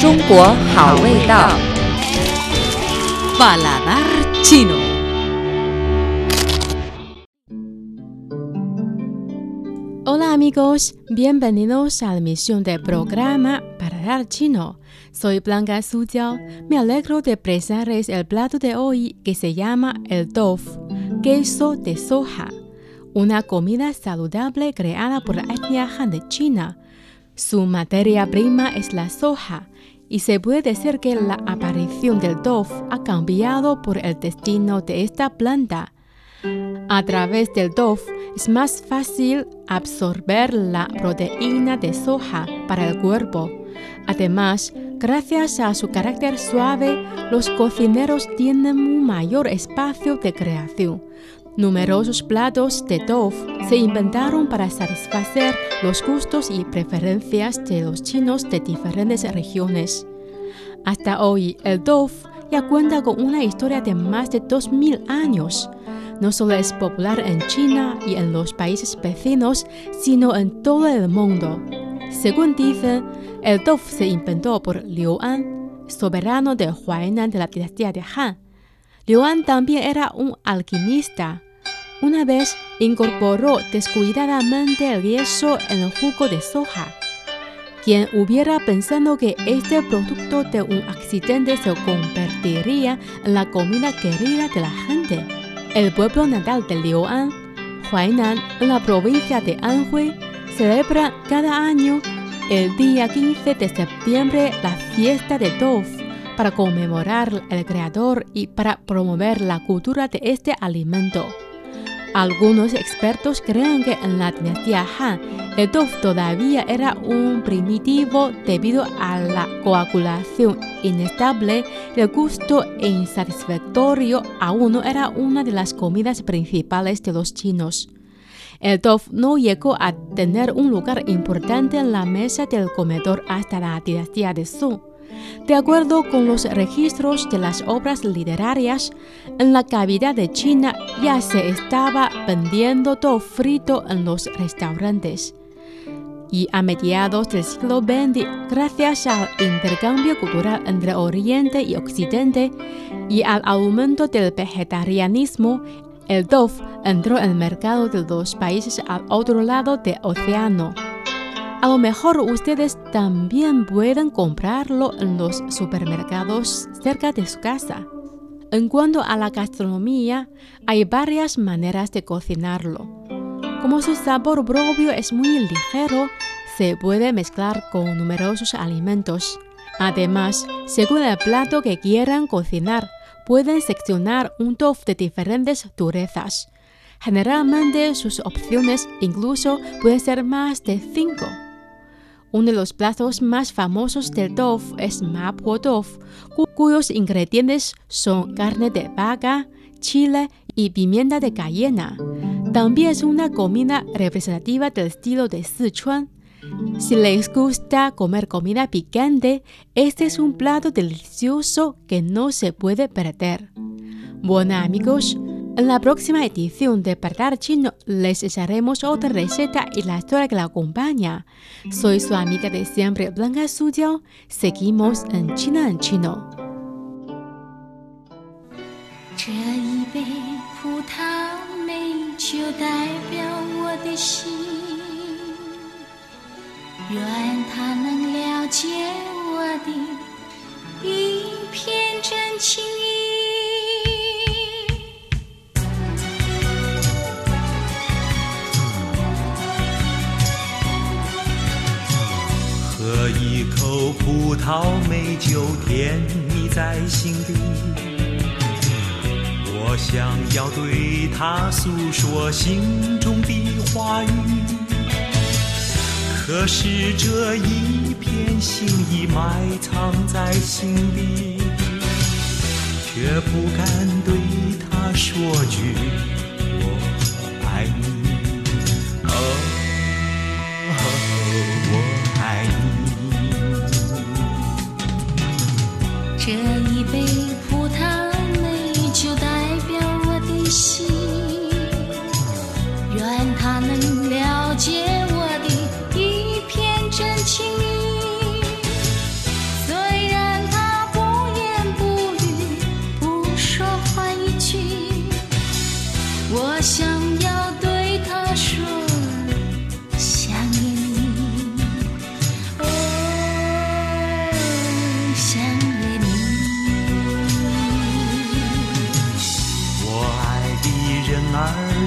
中国好味道。 Paladar chino. Hola amigos, bienvenidos a la emisión del programa Paladar chino. Soy Blanca Sujiao. Me alegro de presentarles el plato de hoy que se llama el tofu, queso de soja, una comida saludable creada por la etnia Han de China. Su materia prima es la soja, y se puede decir que la aparición del tofu ha cambiado por el destino de esta planta. A través del tofu es más fácil absorber la proteína de soja para el cuerpo. Además, gracias a su carácter suave, los cocineros tienen un mayor espacio de creación. Numerosos platos de tofu se inventaron para satisfacer los gustos y preferencias de los chinos de diferentes regiones. Hasta hoy, el tofu ya cuenta con una historia de más de 2000 años. No solo es popular en China y en los países vecinos, sino en todo el mundo. Según dicen, el tofu se inventó por Liu An, soberano de Huainan de la dinastía de Han. Liu An también era un alquimista. Una vez incorporó descuidadamente el queso en el jugo de soja. Quien hubiera pensado que este producto de un accidente se convertiría en la comida querida de la gente. El pueblo natal de Liu An, Huainan, en la provincia de Anhui, celebra cada año el día 15 de septiembre la fiesta de tofu para conmemorar al creador y para promover la cultura de este alimento. Algunos expertos creen que en la dinastía Han, el tofu todavía era un primitivo debido a la coagulación inestable y el gusto insatisfactorio aún no era una de las comidas principales de los chinos. El tofu no llegó a tener un lugar importante en la mesa del comedor hasta la dinastía de Song. De acuerdo con los registros de las obras literarias, en la capital de China ya se estaba vendiendo tofu frito en los restaurantes. Y a mediados del siglo XX, gracias al intercambio cultural entre Oriente y Occidente y al aumento del vegetarianismo, el tofu entró en el mercado de los países al otro lado del océano. A lo mejor ustedes también pueden comprarlo en los supermercados cerca de su casa. En cuanto a la gastronomía, hay varias maneras de cocinarlo. Como su sabor propio es muy ligero, se puede mezclar con numerosos alimentos. Además, según el plato que quieran cocinar, pueden seccionar un tofu de diferentes durezas. Generalmente sus opciones incluso pueden ser más de 5. Uno de los platos más famosos del tofu es mapo tofu, cuyos ingredientes son carne de vaca, chile y pimienta de cayena. También es una comida representativa del estilo de Sichuan. Si les gusta comer comida picante, este es un plato delicioso que no se puede perder. Bueno amigos, en la próxima edición de Paladar Chino les echaremos otra receta y la historia que la acompaña. Soy su amiga de siempre, Blanca Sujiao. Seguimos en China en Chino. 这一杯葡萄美酒代表我的心，愿它能了解我的一片真情意。 喝一口葡萄美酒，甜蜜在心底。我想要对它诉说心中的话语，可是这一片心意埋藏在心底，却不敢对它说句我爱你。我爱你。 这一杯葡萄美酒代表我的心，愿它能了解我的一片真情意。所以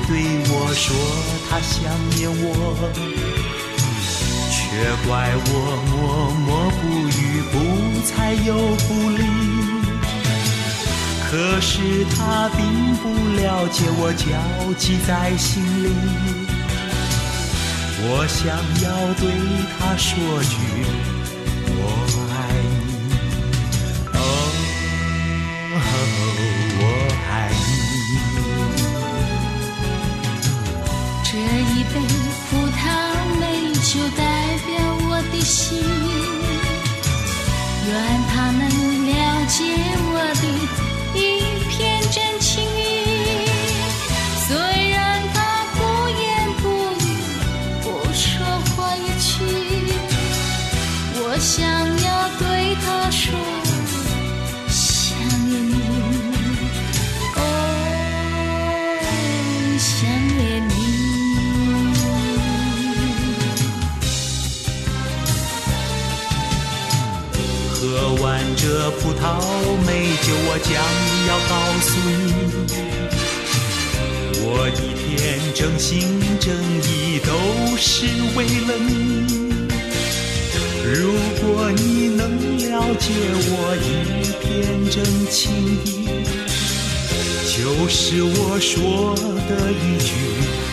对我说他想念我，却怪我默默不语，不睬又不理。可是他并不了解我焦急在心里，我想要对他说句我爱你，哦，我爱你。 这一杯葡萄美酒代表我的心，愿他能了解我的一片真情意。虽然他不言不语，不说话一句，我想要对他说想念你，哦，想念你。 喝完这葡萄美酒，我将要告诉你，我一片真心真意都是为了你。如果你能了解我一片真情意，就是我说的一句